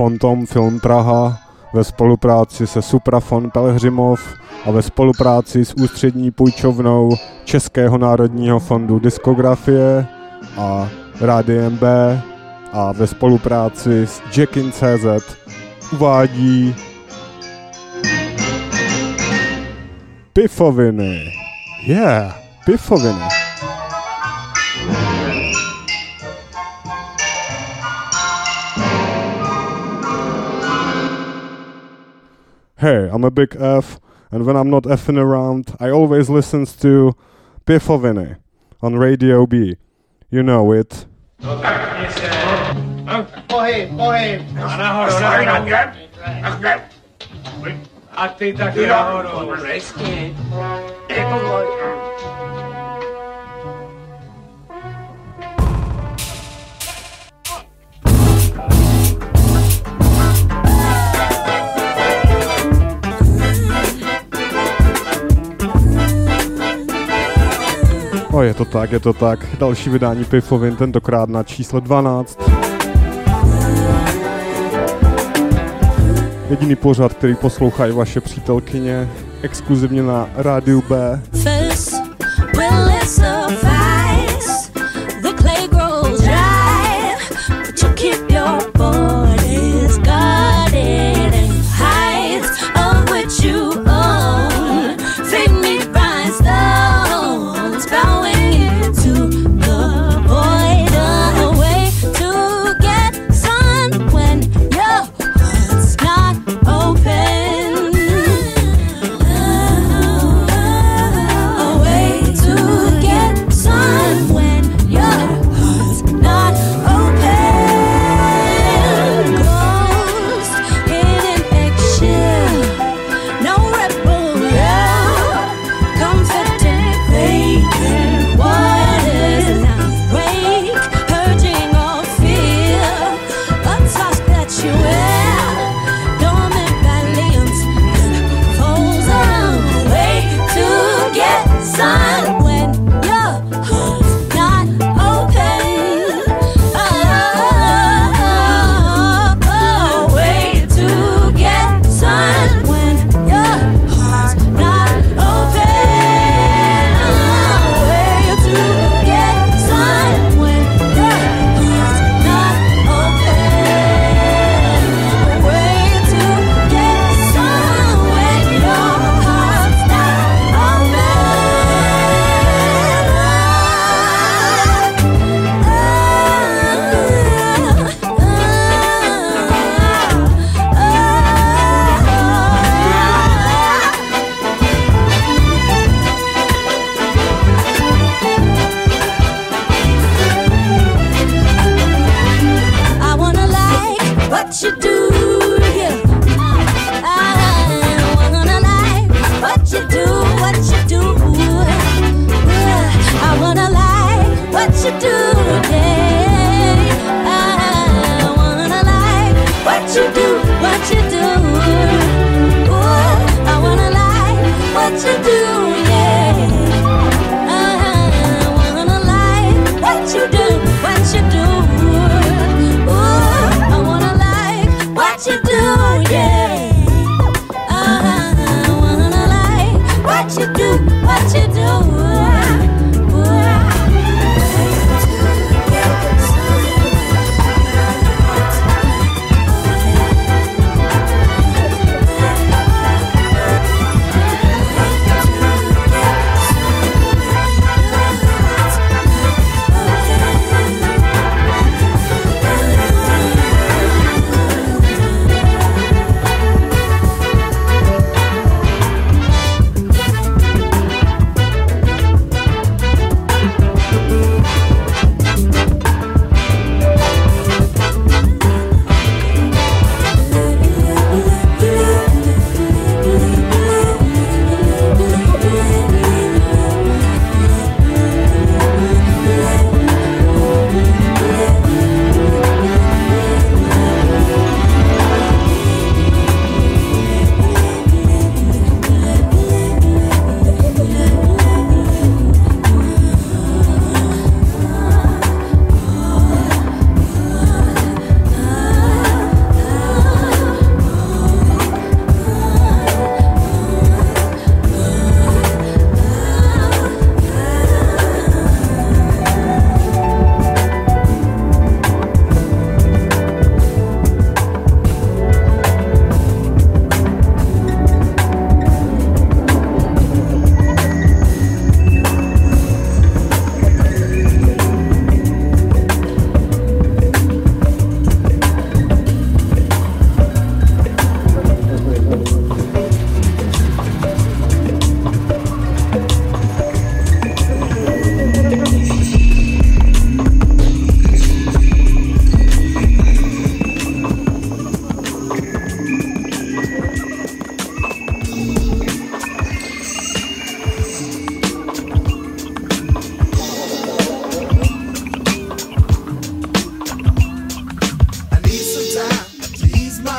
Fontom Film Praha ve spolupráci se Suprafon Pelhřimov a ve spolupráci s Ústřední půjčovnou Českého národního fondu diskografie a Rádiem B a ve spolupráci s Jackin.cz uvádí Pifoviny. Yeah, Pifoviny. Hey, I'm a big F, and when I'm not effing around, I always listen to Pifoviny on Radio B. You know it. Pohyb. A ty taky nahoru. Přesně. Je to tak. Další vydání Pifovin, tentokrát na číslo 12. Jediný pořad, který poslouchají vaše přítelkyně, exkluzivně na Rádiu B. What you do?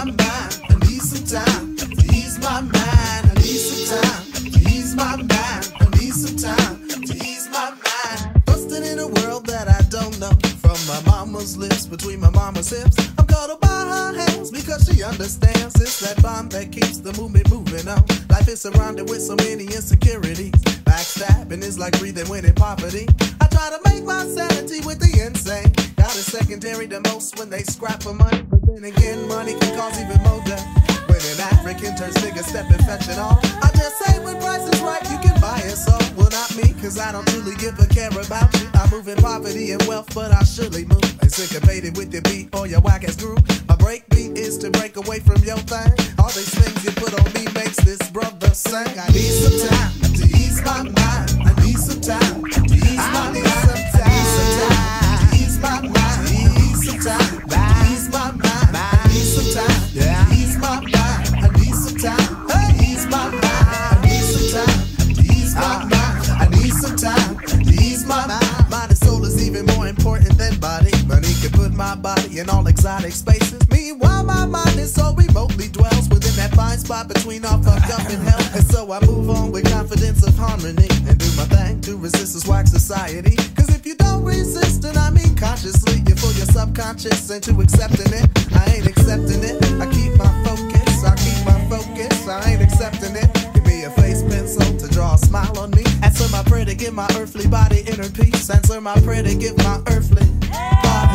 my mind. I need some time to ease my mind. I need some time to ease my mind. I need some time to ease my mind. Busted in a world that I don't know. From my mama's lips, between my mama's hips, I'm cuddled by her hands because she understands. It's that bond that keeps the movement moving on. Life is surrounded with so many insecurities. Backstabbing is like breathing when in poverty. I try to make my sanity with the insane. God is secondary to most when they scrap for money. But then again, money can cause even more death. When an African turns nigga stepping fetching all. I just say when price is right, you can buy it. So, well, not me, cause I don't truly give a care about you. I move in poverty and wealth, but I surely move. Syncopated with your beat or your whack ass groove. My break beat is to break away from your thing. All these things you put on me makes this brother sing. I need some time to ease my mind. I need some time to ease my mind. I need some time to ease my mind. I need some time to ease my mind. I need some time to ease my mind. I need some time to ease my mind. I need some time to ease my mind. I need some time to ease my mind. Mind and soul is even more important than body. Money can put my body in all exotic spaces. Meanwhile, my mind is so remotely dwells within that fine spot between all fucked up and hell. And so I move on with confidence of harmony and do my thing to resist this whack society. Cause if you don't resist, and I mean consciously, you fool your subconscious into accepting it. I ain't accepting it. I keep my focus. I keep my focus. I ain't accepting it. Give me a face pencil to draw a smile on me. Answer my prayer to give my earthly body inner peace. Answer my prayer to give my earthly body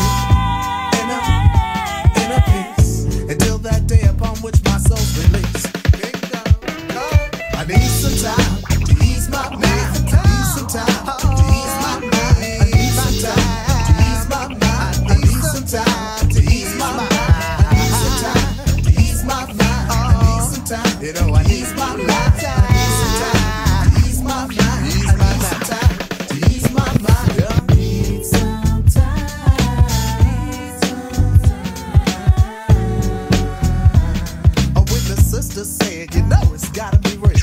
inner peace. Until that day upon which my soul's released. I need some time to ease my mind. I need some time to ease my mind. I need some time to ease my mind. I need some time to ease my mind. I need some time to ease my mind. I need some time, you know, I need my mind. I need some time to ease my mind. I need some time to ease my mind. I need some time. Oh, when the sister said, you know it's gotta be real.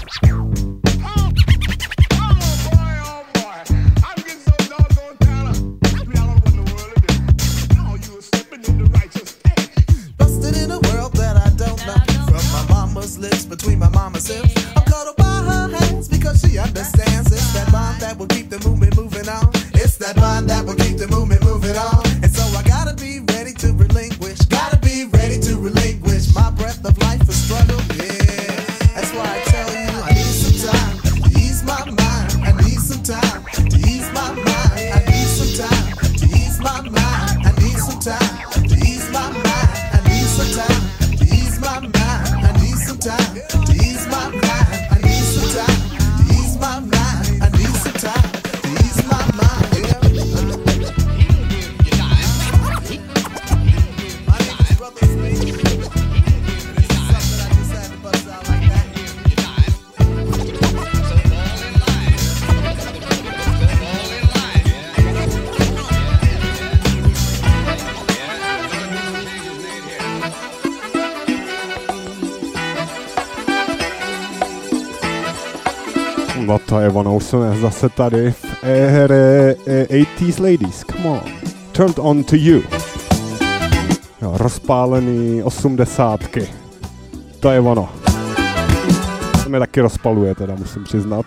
Lips between my mama's hips. I'm cuddled by her hands because she understands. It's that bond that will keep the movement moving on. It's that bond that will keep the movement moving on. And so I gotta be ready to relinquish. Gotta be ready to relinquish my breath of life for struggle. Yeah, that's why I tell you I need some time to ease my mind. I need some time to ease my mind. I need some time to ease my mind. I need some time to ease my mind. I need some time to ease my mind. Time to ease my mind. I need some time to ease my mind. I need some time to ease my mind. My name is Brother Space. It's something I just had to bust out like that. No to Evanou jsme zase tady v éře 80s ladies, come on, turned on to you. Jo, rozpálený 80ky, to je ono. To mě taky rozpaluje teda, musím přiznat.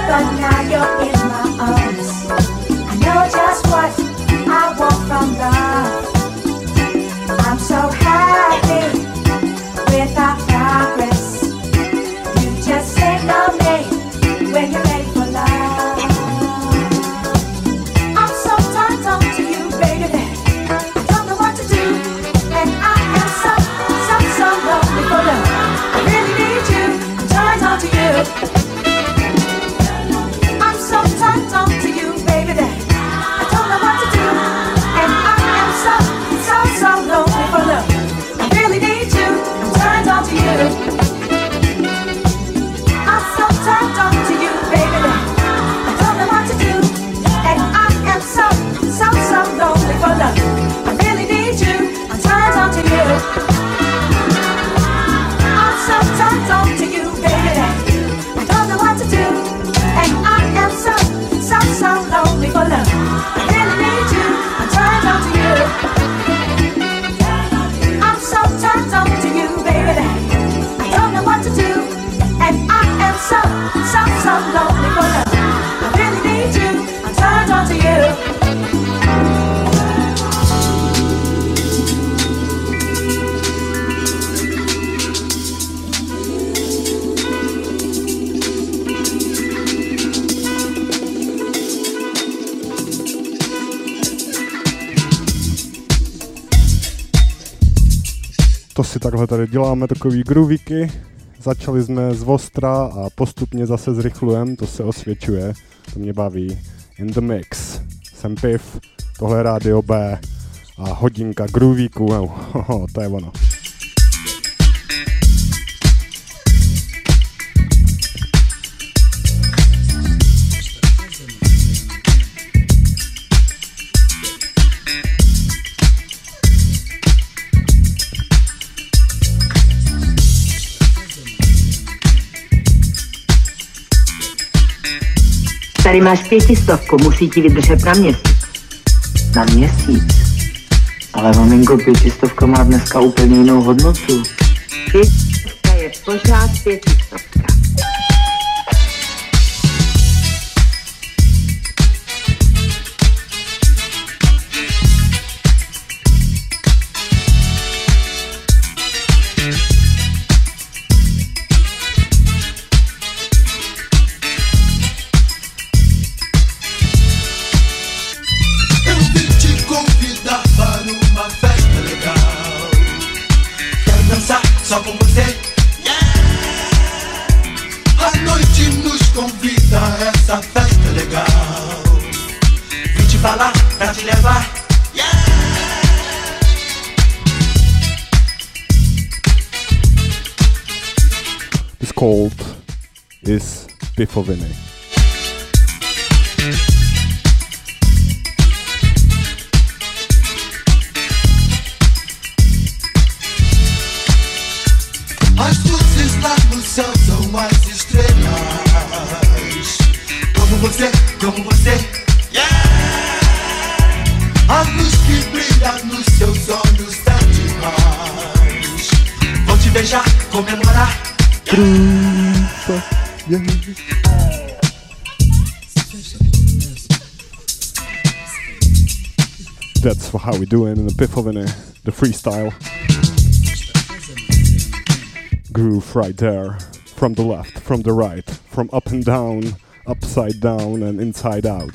but now you're in my arms. I know just what I want from love. I'm so happy with our progress. You just signal me when you're ready for love. I'm so turned on to you, baby, that I don't know what to do. And I am so lonely for love. I really need you, I'm turned on to you. I'm so turned on to you, baby, that I don't know what to do. And I am so lonely for love. I really need you, I'm turned on to you. I'm so turned on to you, baby, that I don't know what to do. And I am so lonely for love. I really need you, I'm turned on to you. I'm so turned on to you, baby, that I don't know what to do. And I am so lonely for love. I really need you, I'm turned on to you. I'm so turned on to you, baby, that I don't know what to do. And I am so lonely for love. I really need you, I'm turned on to you. To si takhle tady děláme takový groovíky. Začali jsme z ostra a postupně zase zrychlujeme, to se osvědčuje, to mě baví. In the mix, jsem Piv, tohle je Rádio B a hodinka groovíků, to je ono. Tady máš 500, musí ti vydržet na měsíc. Na měsíc? Ale maminko, 500 má dneska úplně jinou hodnotu. 500 je pořád 500. Só com você, yeah. A noite nos convida a essa festa legal. Vim te falar pra te levar, yeah. It's called is Pifoviny. As luzes lá no céu são as estrelas. Como você, yeah. A luz que brilha nos seus olhos é demais. Vou te beijar, comemorar, yeah. That's how we do it in the Pifoviny, the freestyle. Groove right there, from the left, from the right, from up and down, upside down and inside out.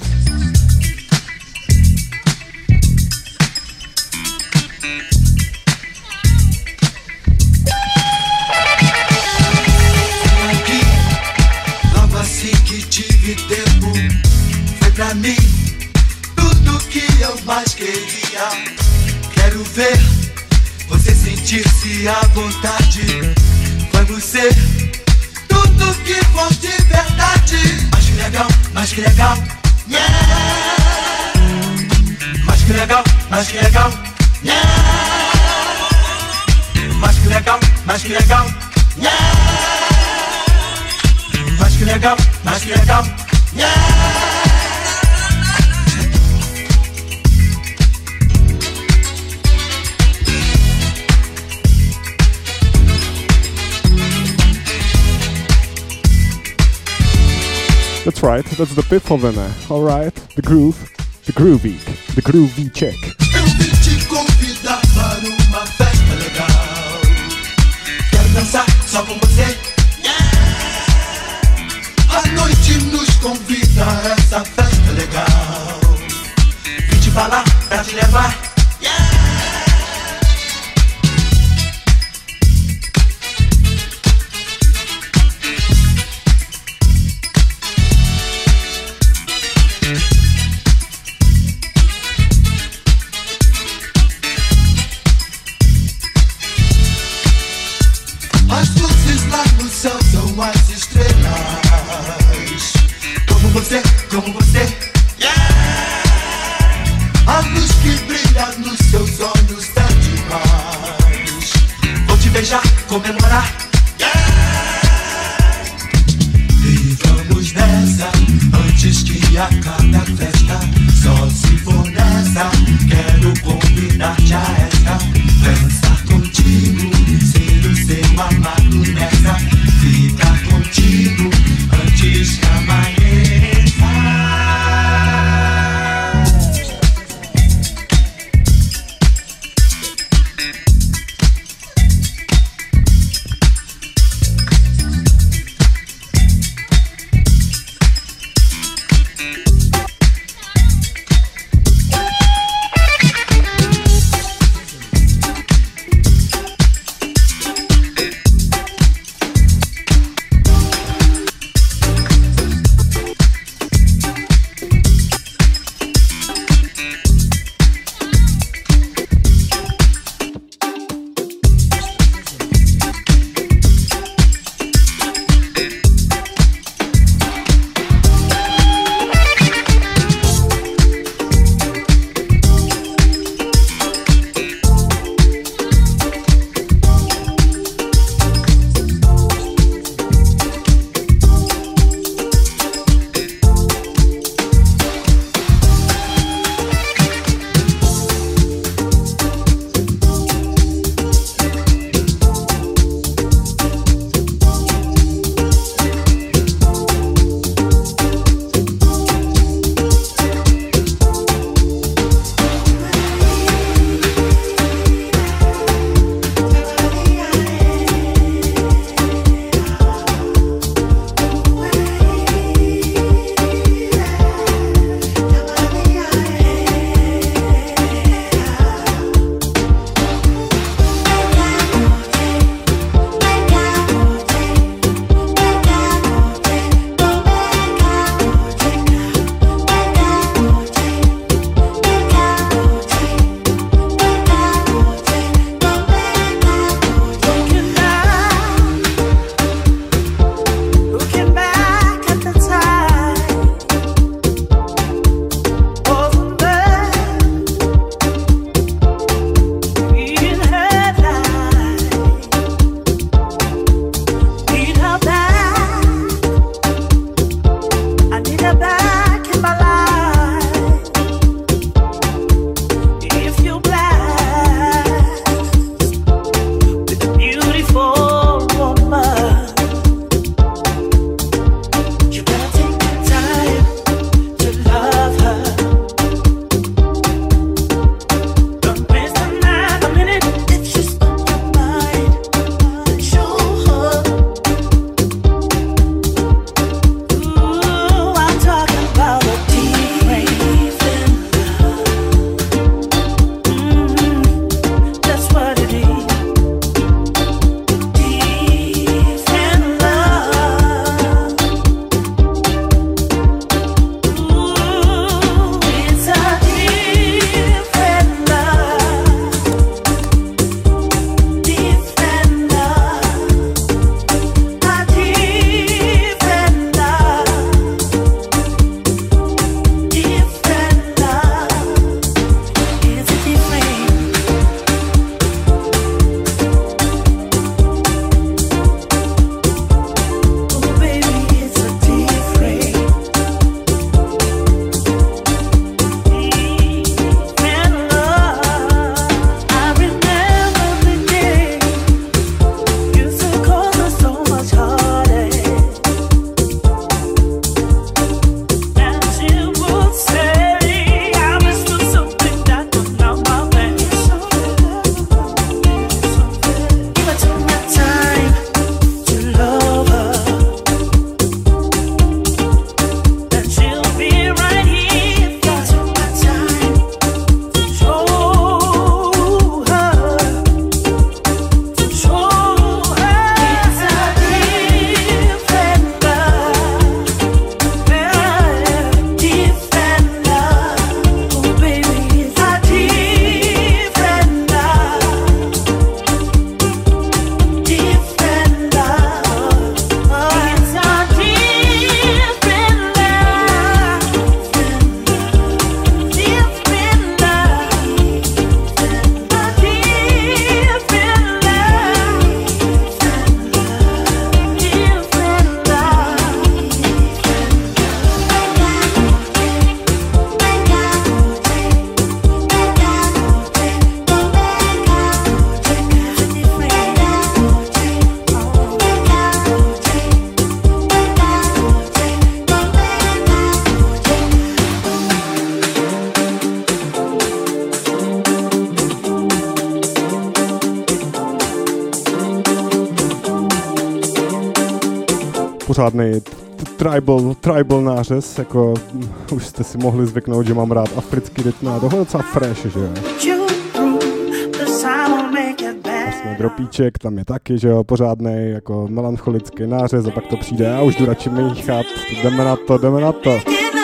Aqui, logo assim que tive tempo, foi pra mim tudo que eu mais queria. Quero ver você sentir-se à vontade. Vamos ser tudo que for de verdade. Mas que legal, yeah. Mas que legal, yeah. Mas que legal, yeah. Mas que legal, yeah. That's right, that's the Pifovene. Alright, the groove, the groovy check. Eu vim te convidar para uma festa legal. Quero dançar só com você. A noite nos convida a essa festa legal. Vim te falar pra te levar. As luzes lá no céu são as estrelas. Como você, a luz que brilha nos seus olhos é demais. Vou te beijar, comemorar. E vamos nessa, antes que acabe a festa. Só se for nessa, quero convidar-te a esta. Dançar contigo, ser o seu amado nessa. Ficar contigo, antes que amanheça. pořádnej tribal nářez, jako už jste si mohli zvyknout, že mám rád africký rytm a tohle docela fresh, že jo. Vlastně dropíček, tam je taky, že jo, pořádnej, jako melancholický nářez a pak to přijde a už jdu radši míchat, jdeme na to.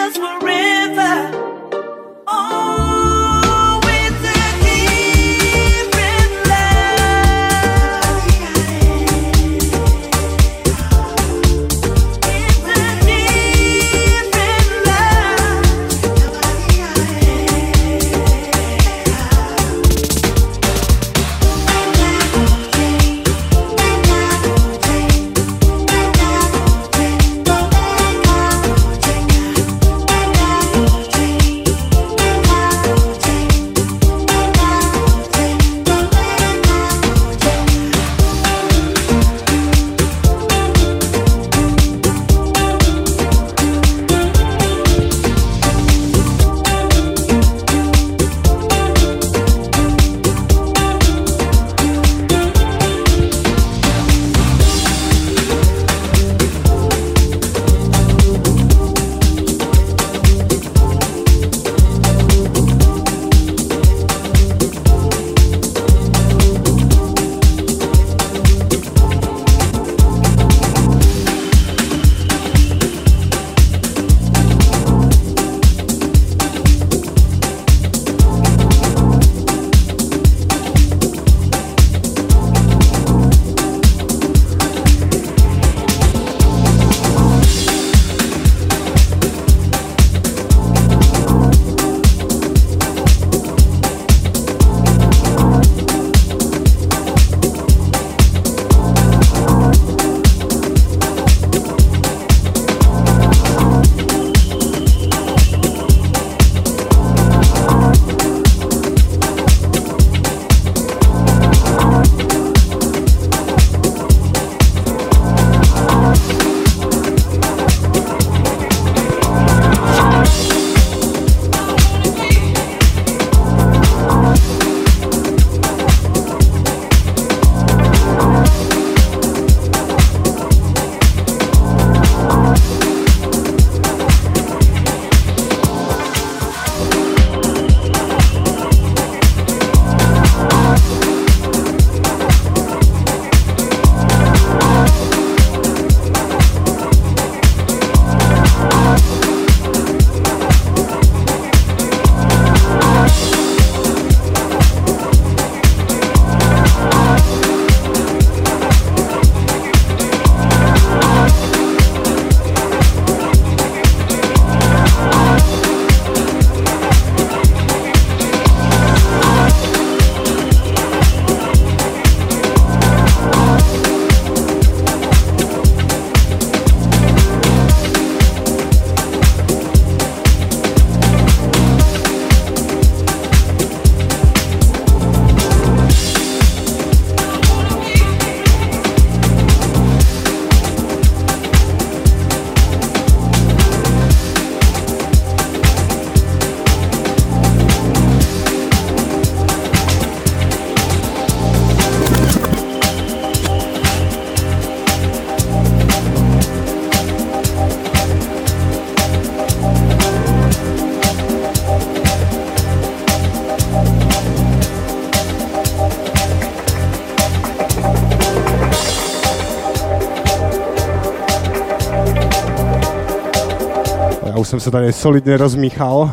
už jsem se tady solidně rozmíchal.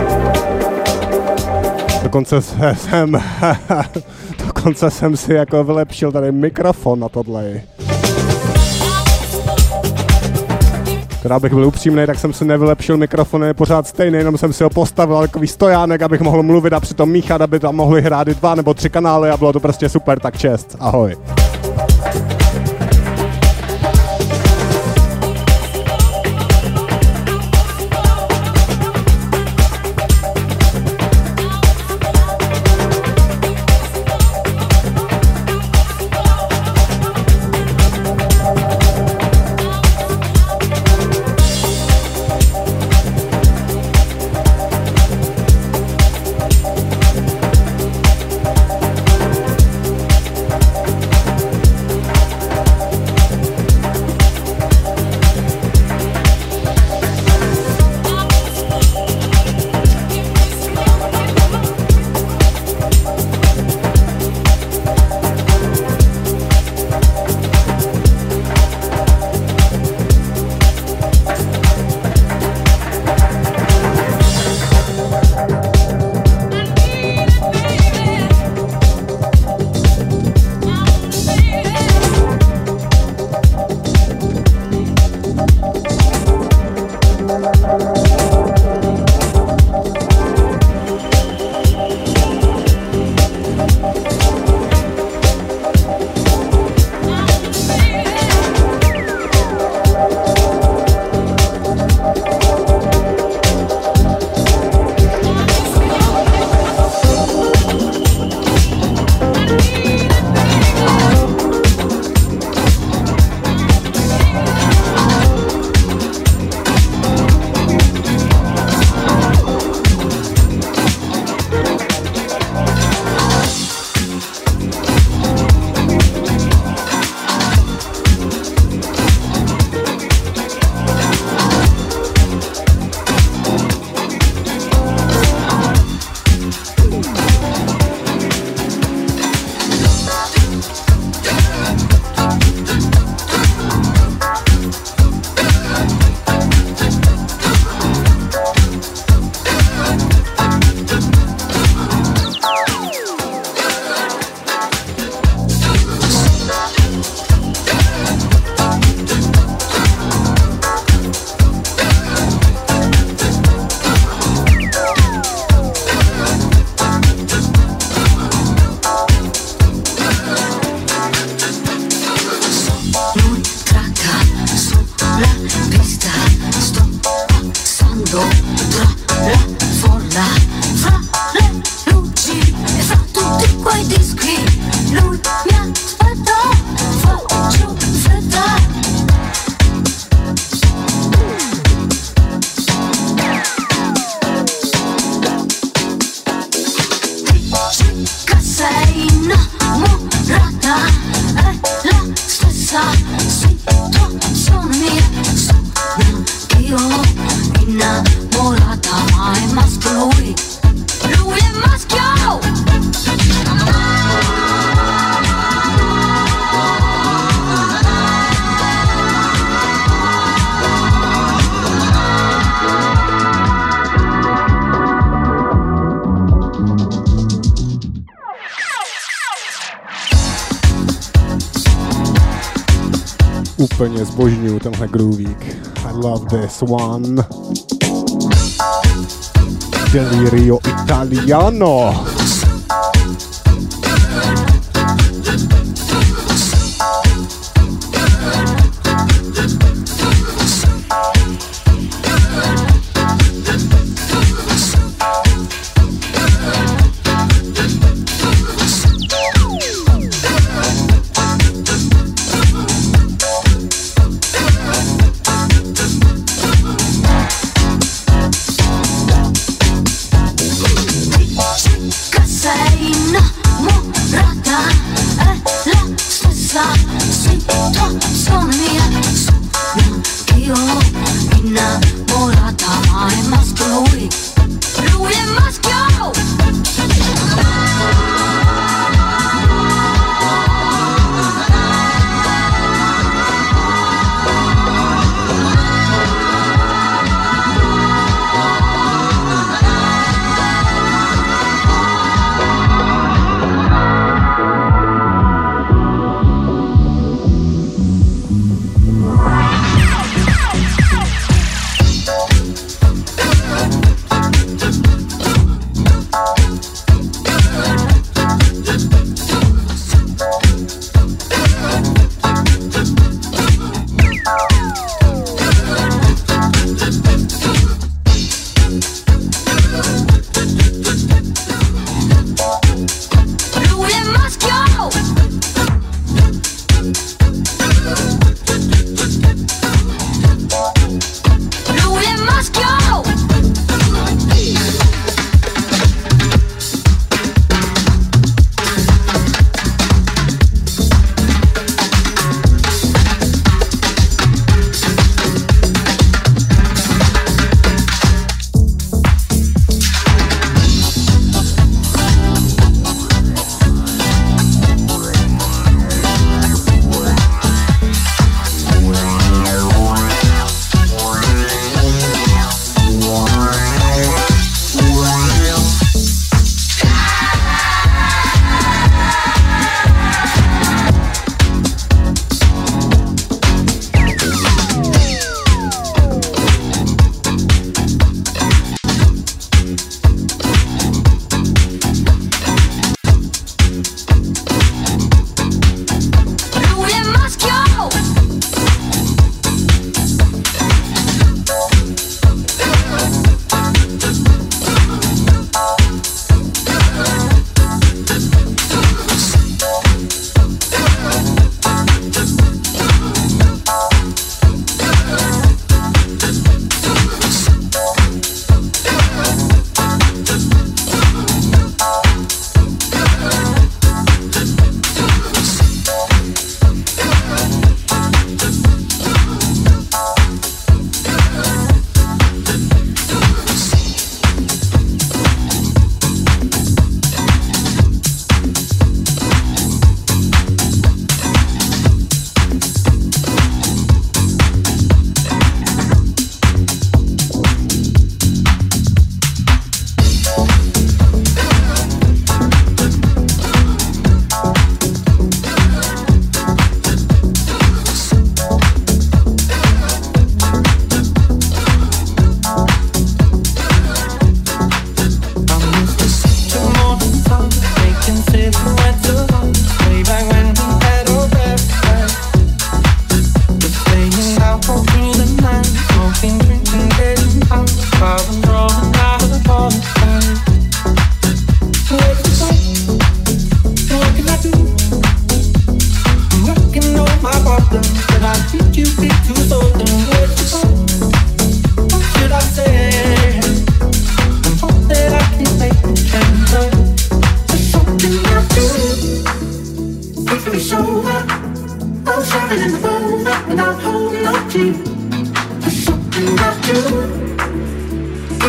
Dokonce jsem si jako vylepšil tady mikrofon na tohle. Když bych byl upřímnej, tak jsem si nevylepšil mikrofon, je pořád stejný, jenom jsem si ho postavil takový stojánek, abych mohl mluvit a přitom míchat, aby tam mohli hrát 2 nebo 3 kanály a bylo to prostě super, tak čest, ahoj. Úplně zbožňuju tenhle groovík. I love this one. Delirio Italiano.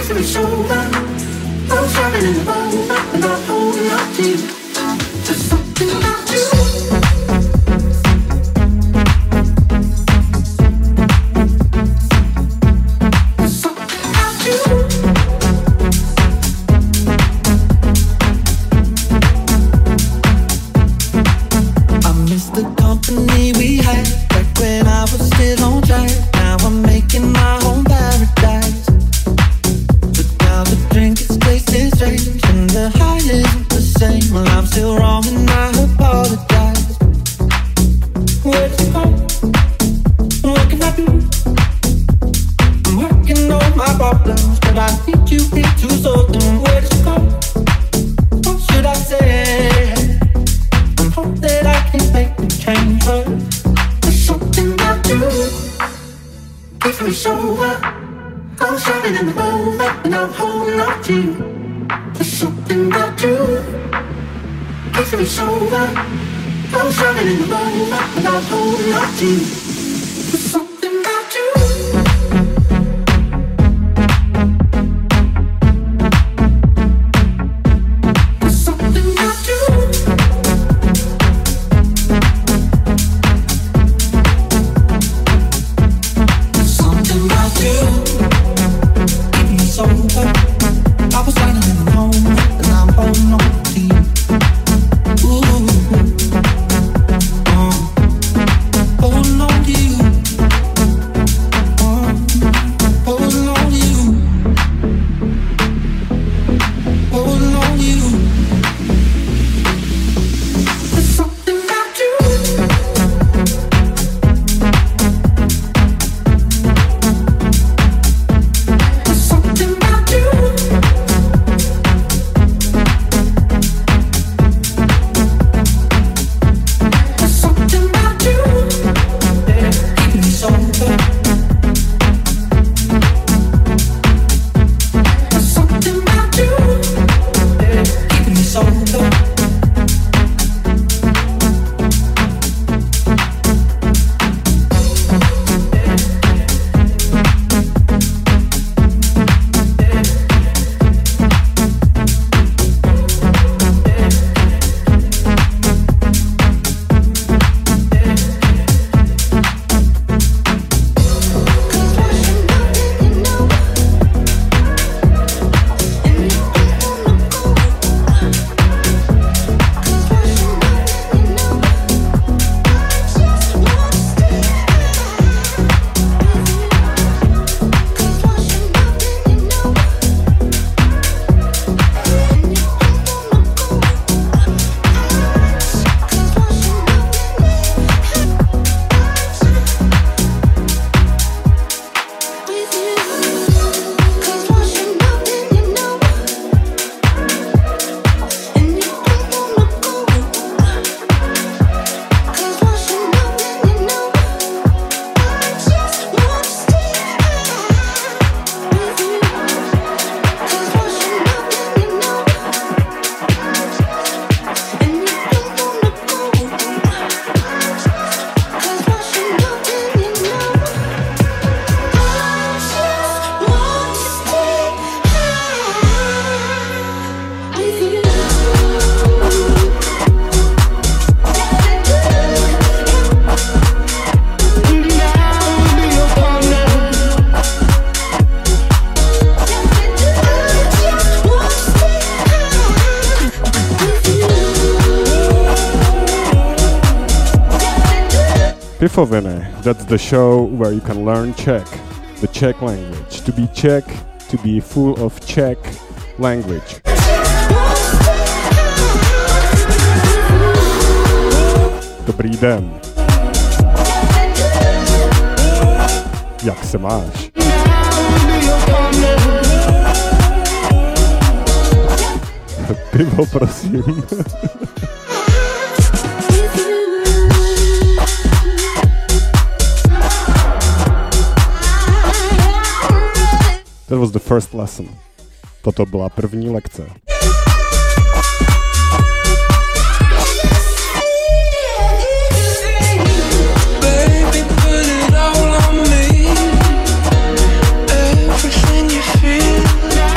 it's over. I'm driving in the moment and I'm holding on to you. There's something about you. Pifoviny, that's the show where you can learn Czech, the Czech language. To be Czech, to be full of Czech language. Dobrý den. Jak se máš? Pivo, prosím. That was the first lesson. Toto byla první lekce. Everything you feel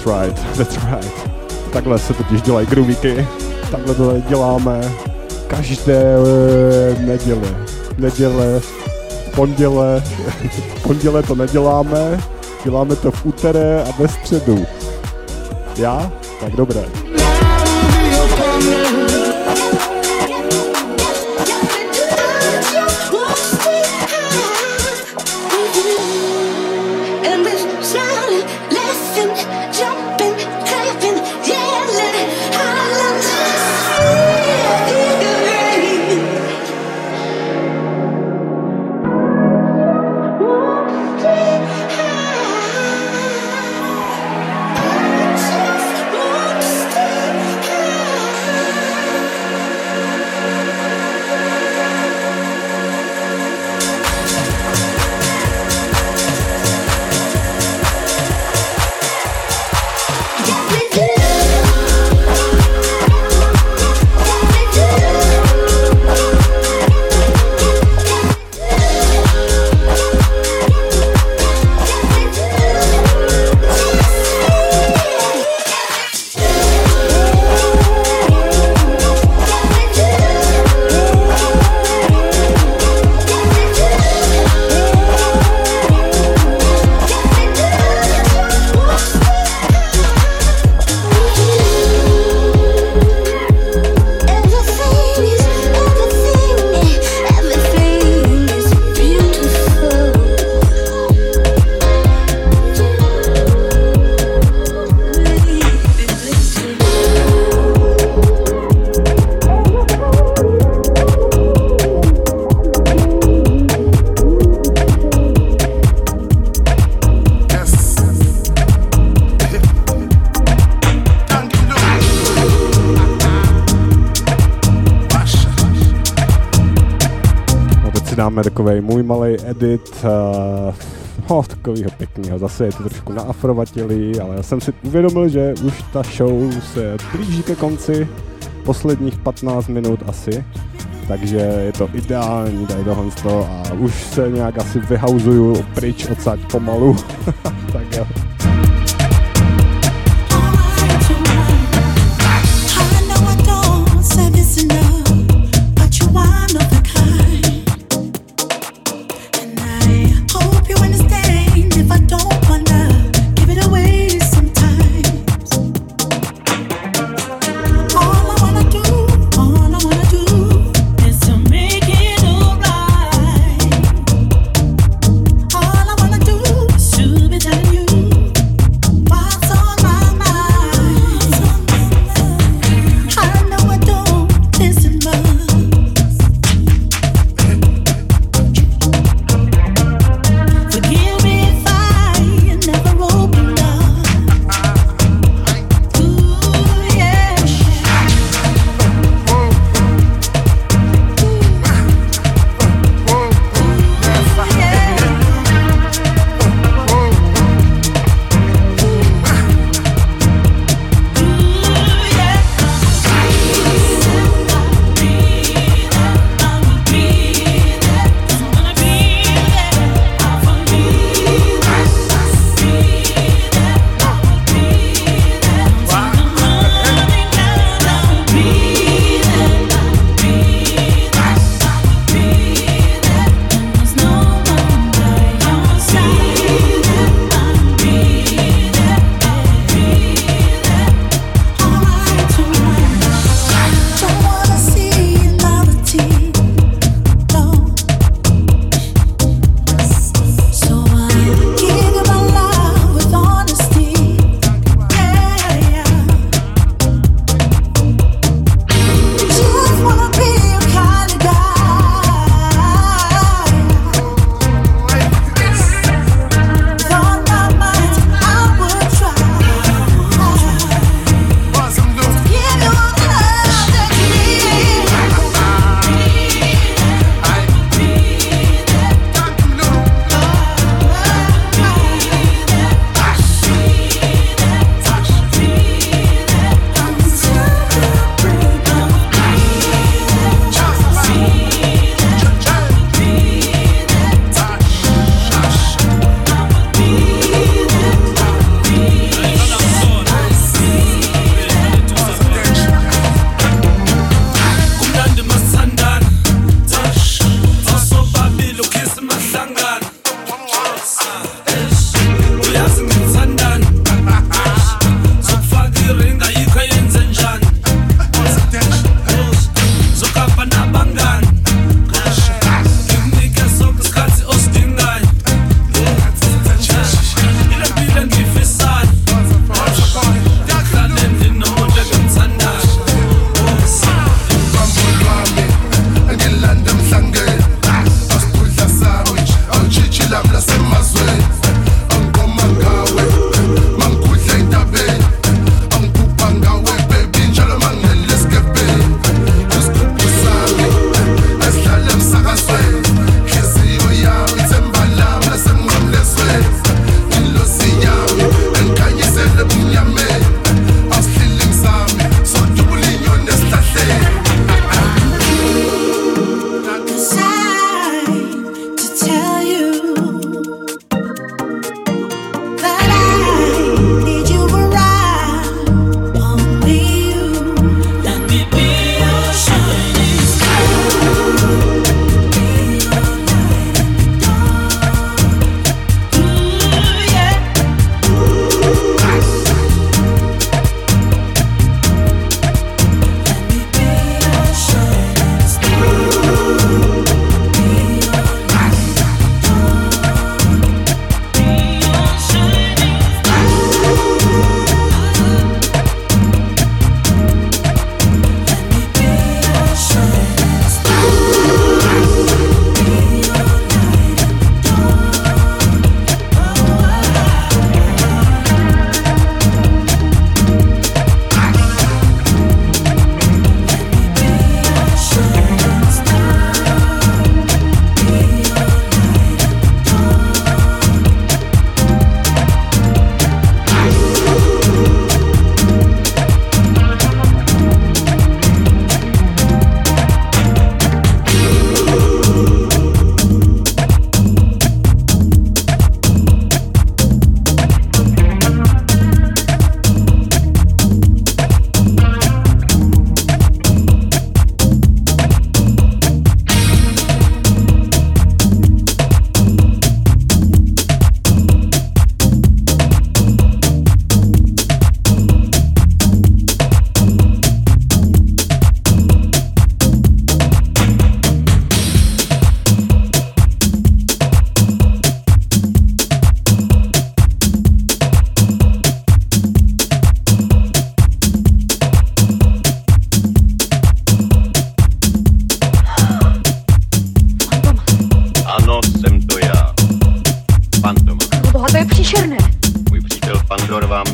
That's right. Takhle se totiž dělají groovíky. Takhle to děláme každé neděle, ponděle to neděláme, děláme to v úteré a ve středu. Já? Tak dobré. Dáme takovej můj malej edit, takovýho pěknýho, zase je to trošku naafrovatělý, ale já jsem si uvědomil, že už ta show se blíží ke konci, posledních 15 minut asi, takže je to ideální tady tohle a už se nějak asi vyhauzuju pryč odsaď pomalu, tak jo. You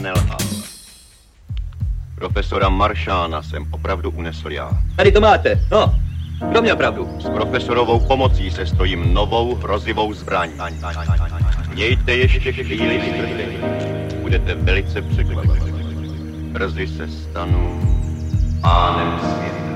nelhal. Profesora Maršána jsem opravdu unesl já. Tady to máte, no, kdo měl pravdu? S profesorovou pomocí se stojím novou hrozivou zbraň. Mějte ještě chvíli strpení. Budete velice překvapeni. Brzy se stanu pánem světa.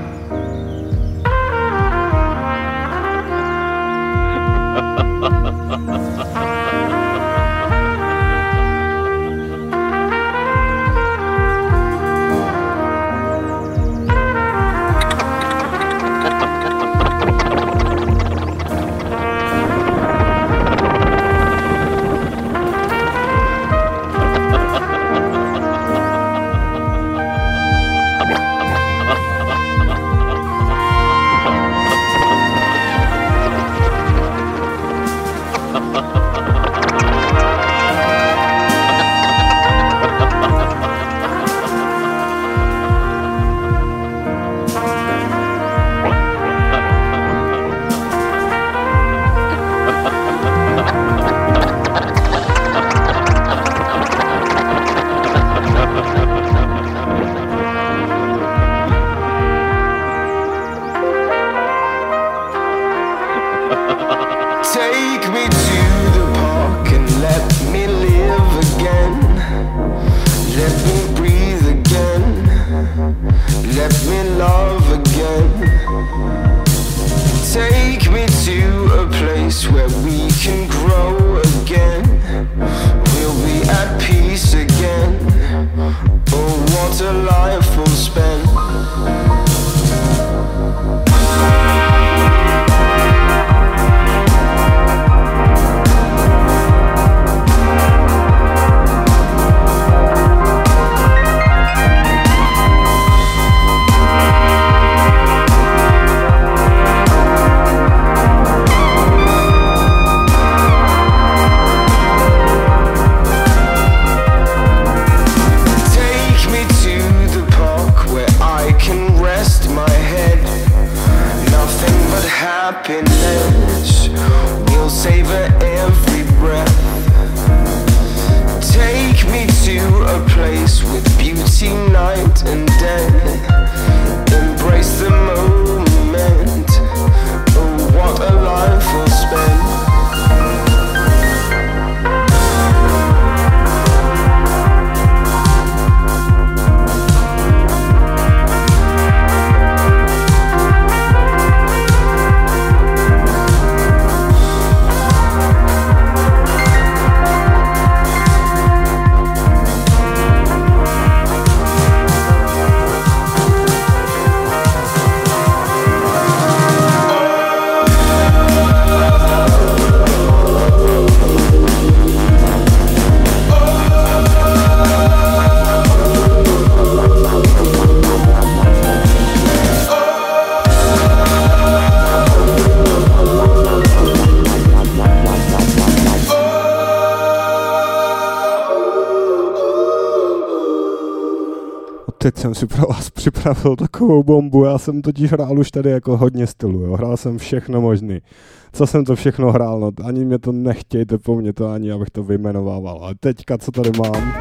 Teď jsem si pro vás připravil takovou bombu, já jsem totiž hrál už tady jako hodně stylu, jo. Hrál jsem všechno možný. Co jsem to všechno hrál, no ani mě to nechtějte po mně to ani, abych to vyjmenovával, ale teďka, co tady mám,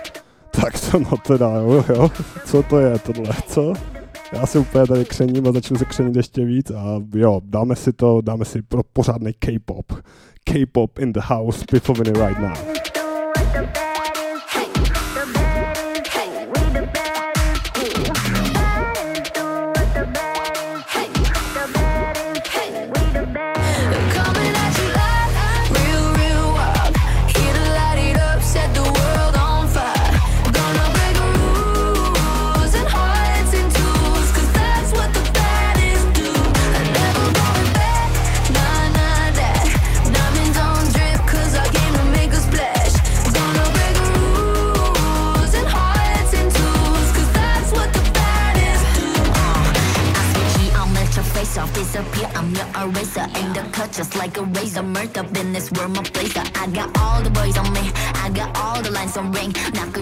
tak to no teda, jo, co to je tohle, co? Já se úplně tady křením a začnu se křenit ještě víc a jo, dáme si pro pořádnej K-pop. K-pop in the house, Pifoviny right now. Just like a razor, murked up in this world, my place. I got all the boys on me, I got all the lines on ring. Knock 'em dead,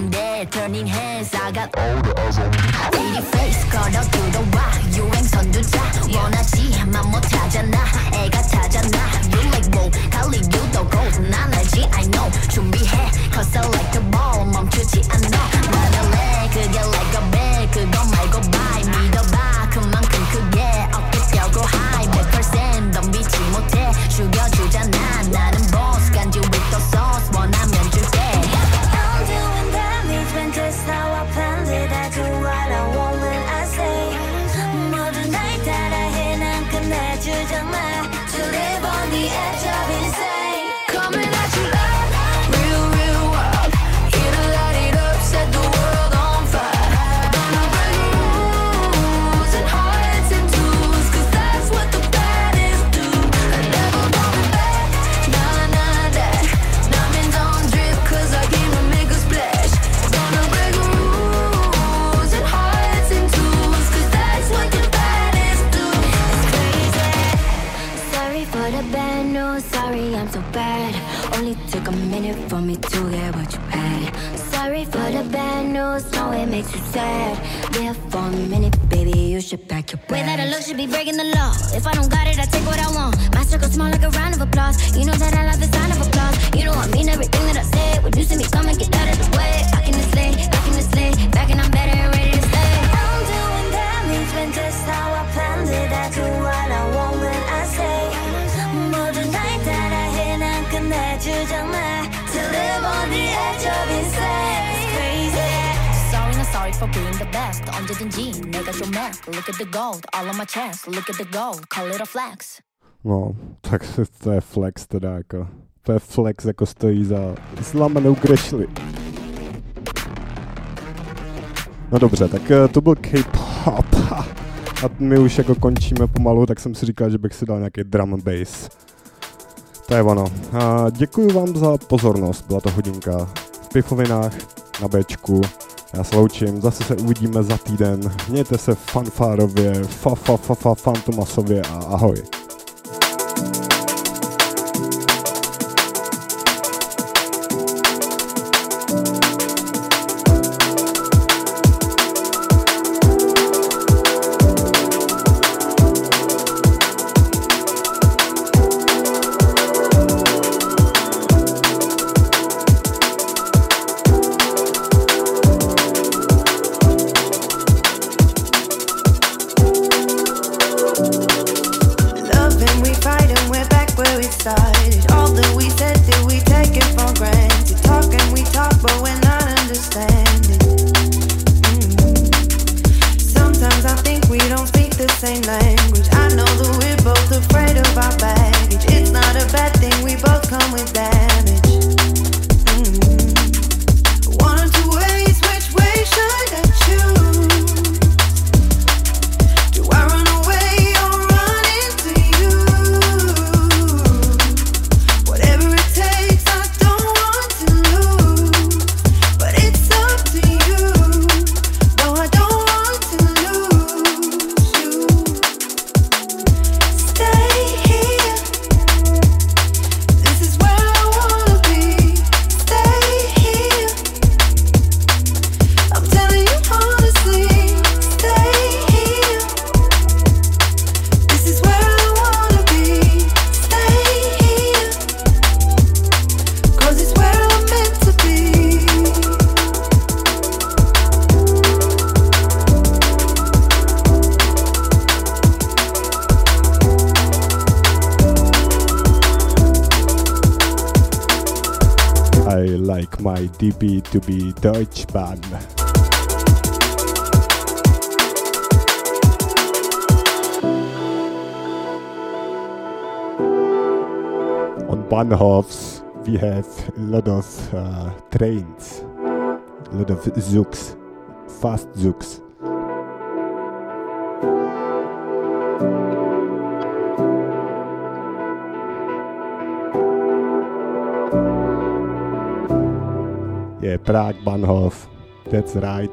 turning heads. I got all the eyes on me. Pretty face 걸어 들어와 유행선두자 원하지만 못하잖아 애가 타잖아. You like wow 갈리 유도 gold 난 알지 I know 준비해 cause I like the ball 멈추지 않아. 나는 내 그게 like a bell 그거 말고 bye 믿어봐 그만큼 크게 어깨 펴고 high 100% 덤비지 못해 죽여주잖아. 나는 boss 간지 with the sauce 원하면 줄게. I'm doing damage when just how I planned it. I do what I want when I say. 모든 날 따라해 난 끝내주잖아. To live on the edge of insane. Coming at you like real, real wild. Here to light it up, set the world on fire. Gonna break rules and hearts in twos, cause that's what the baddest do. I never going back, nah, nah, that. Diamonds on drip, cause I came to make a splash. Gonna break rules and hearts in twos, cause that's what the baddest do. It's crazy. Sorry for the bad news. Sorry I'm so bad. Only took a minute for me to get what you had. Sorry for the bad news. No, it makes you sad. There for a minute, baby, you should pack your bags. Way that I look should be breaking the law. If I don't got it, I take what I want. My circle small like a round of applause. You know that I love the sound of applause. You know I mean everything that I say. When you see me come and get out of the way. Back in the sleigh, back in the sleigh. Back and I'm better and ready to stay. I'm doing damage when just how I planned it. I do what I want when I say. 모든 날 따라해 난 끝내주잖아. To live on the edge of insane. It's crazy. Sorry, not sorry for being the best. 언제든지 내가 좀 mess. Look at the gold, all on my chest. Look at the gold, call it a flex. No, tak to je flex teda jako. To je flex jako stojí za zlamenou grešli. No dobře, tak to byl K-pop. A my už jako končíme pomalu, tak jsem si říkal, že bych si dal nějaký drum and bass. To je ono. A děkuji vám za pozornost, byla to hodinka v Pifovinách na Bčku. Já se loučím, zase se uvidíme za týden. Mějte se fanfárově, fantomasově a ahoj. My DB to be Deutschbahn. On Bahnhofs we have a lot of trains, a lot of zugs, fast zugs. Yeah, Prague Bahnhof, that's right.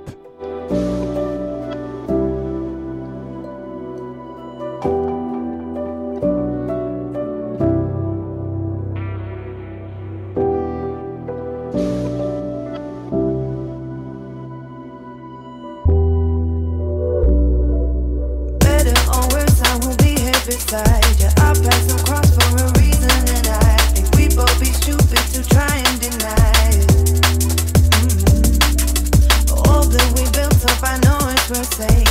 inside. Yeah, our paths don't cross for a reason, and I think we both be stupid to try and deny it. All that we built up, I know it's worth saying.